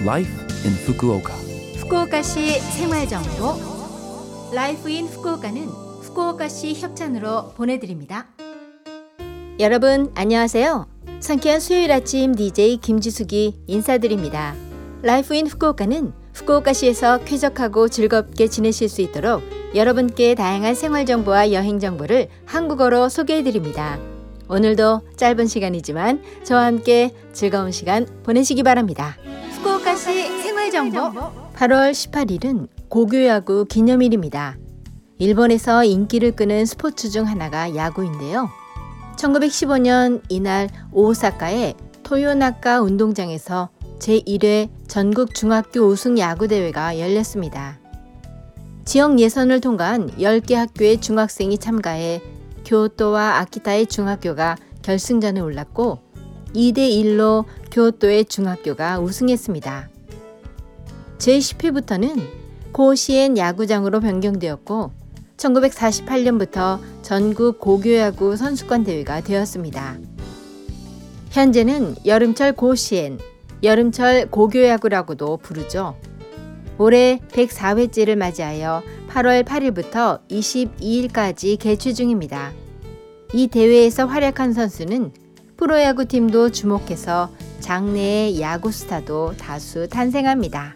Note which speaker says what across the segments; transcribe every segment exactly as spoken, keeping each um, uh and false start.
Speaker 1: Life in Fukuoka.
Speaker 2: 후쿠오카시 생활정보 라이프 인 후쿠오카는 후쿠오카시 협찬으로 보내드립니다. 여러분 안녕하세요. 상쾌한 수요일 아침 디제이 김지숙이 인사드립니다. 라이프 인 후쿠오카는 후쿠오카시에서 쾌적하고 즐겁게 지내실 수 있도록 여러분께 다양한 생활정보와 여행정보를 한국어로 소개해드립니다. 오늘도 짧은 시간이지만 저와 함께 즐거운 시간 보내시기 바랍니다. 후쿠오카시 생활정보 팔월 십팔일은 고교야구 기념일입니다. 일본에서 인기를 끄는 스포츠 중 하나가 야구인데요. 천구백십오년 이날 오사카의 토요나카 운동장에서 제일 회 전국 중학교 우승 야구대회가 열렸습니다. 지역 예선을 통과한 열 개 학교의 중학생이 참가해 교토와 아키타의 중학교가 결승전에 올랐고 이 대 일로 교토의 중학교가 우승했습니다. 제십 회부터는 고시엔 야구장으로 변경되었고 천구백사십팔년부터 전국 고교야구 선수권 대회가 되었습니다. 현재는 여름철 고시엔, 여름철 고교야구라고도 부르죠. 올해 백사 회째를 맞이하여 팔월 팔일부터 이십이일까지 개최 중입니다. 이 대회에서 활약한 선수는 프로야구팀도 주목해서 장내의 야구 스타도 다수 탄생합니다.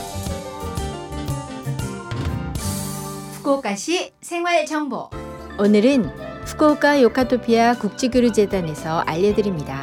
Speaker 2: 후쿠오카시 생활정보 오늘은 후쿠오카 요카토피아 국제교류재단에서 알려드립니다.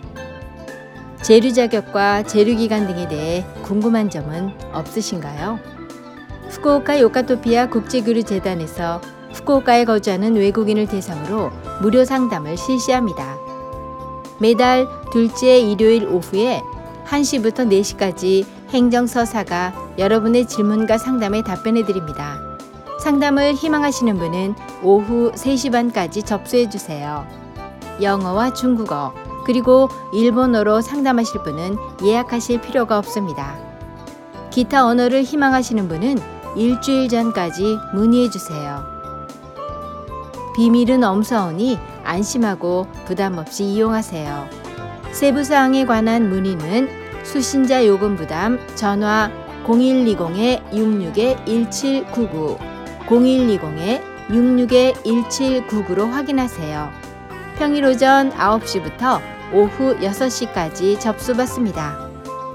Speaker 2: 재류 자격과 재류 기간 등에 대해 궁금한 점은 없으신가요? 후쿠오카 요카토피아 국제교류재단에서 후쿠오카에 거주하는 외국인을 대상으로 무료 상담을 실시합니다. 매달 둘째 일요일 오후에 한 시부터 네 시까지 행정서사가 여러분의 질문과 상담에 답변해 드립니다. 상담을 희망하시는 분은 오후 세 시 반까지 접수해 주세요. 영어와 중국어 그리고 일본어로 상담하실 분은 예약하실 필요가 없습니다. 기타 언어를 희망하시는 분은 일주일 전까지 문의해 주세요. 비밀은 엄사오니 안심하고 부담 없이 이용하세요. 세부사항에 관한 문의는 수신자 요금 부담 전화 공일이공 육육 일칠구구 공일이공 육육 일칠구구로 확인하세요. 평일 오전 아홉 시부터 오후 여섯 시까지 접수받습니다.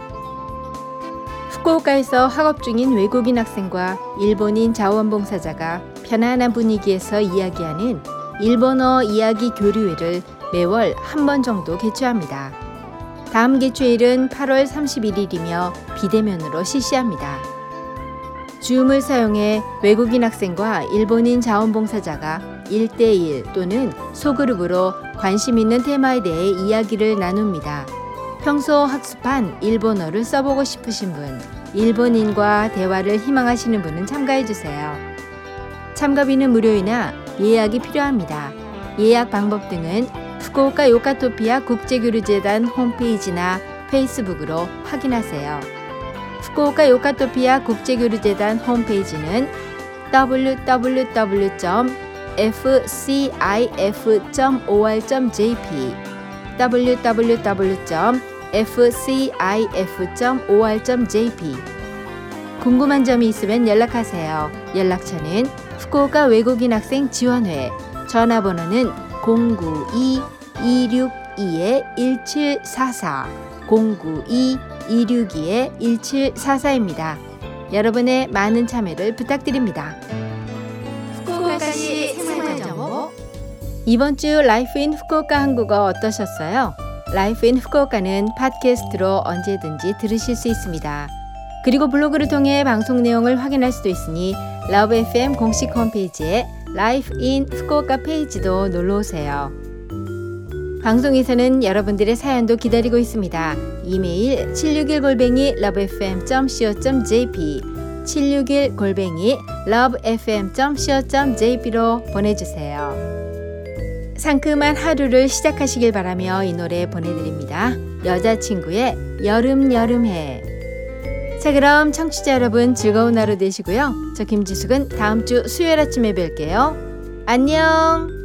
Speaker 2: 후쿠오카에서 학업 중인 외국인 학생과 일본인 자원봉사자가 편안한 분위기에서 이야기하는 일본어 이야기 교류회를 매월 한 번 정도 개최합니다. 다음 개최일은 팔월 삼십일일이며 비대면으로 실시합니다. 줌을 사용해 외국인 학생과 일본인 자원봉사자가 일 대 일 또는 소그룹으로 관심 있는 테마에 대해 이야기를 나눕니다. 평소 학습한 일본어를 써보고 싶으신 분, 일본인과 대화를 희망하시는 분은 참가해주세요. 참가비는 무료이나 예약이 필요합니다. 예약 방법 등은 후쿠오카 요카토피아 국제교류재단 홈페이지나 페이스북으로 확인하세요. 후쿠오카 요카토피아 국제교류재단 홈페이지는 더블유 더블유 더블유 점 에프 씨 아이 에프 점 오알 점 제이피 더블유 더블유 더블유 점 에프 씨 아이 에프 점 오알 점 제이피 궁금한 점이 있으면 연락하세요. 연락처는 후쿠오카 외국인 학생 지원회 전화번호는 공구이 이육이 일칠사사 공구이 이육이 일칠사사입니다. 여러분의 많은 참여를 부탁드립니다. 후쿠오카시 생활정보 이번 주 라이프 인 후쿠오카 한국어 어떠셨어요? 라이프 인 후쿠오카는 팟캐스트로 언제든지 들으실 수 있습니다. 그리고 블로그를 통해 방송 내용을 확인할 수도 있으니 러브 에프엠 공식 홈페이지에 라이프 인 후쿠오카 페이지도 놀러오세요. 방송에서는 여러분들의 사연도 기다리고 있습니다. 이메일 칠육일 골뱅이 러브에프엠 점 씨오 점 제이피 칠육일 골뱅이 러브에프엠 점 씨오 점 제이피로 보내주세요. 상큼한 하루를 시작하시길 바라며 이 노래 보내드립니다. 여자친구의 여름 여름해. 자, 그럼 청취자 여러분 즐거운 하루 되시고요. 저 김지숙은 다음 주 수요일 아침에 뵐게요. 안녕.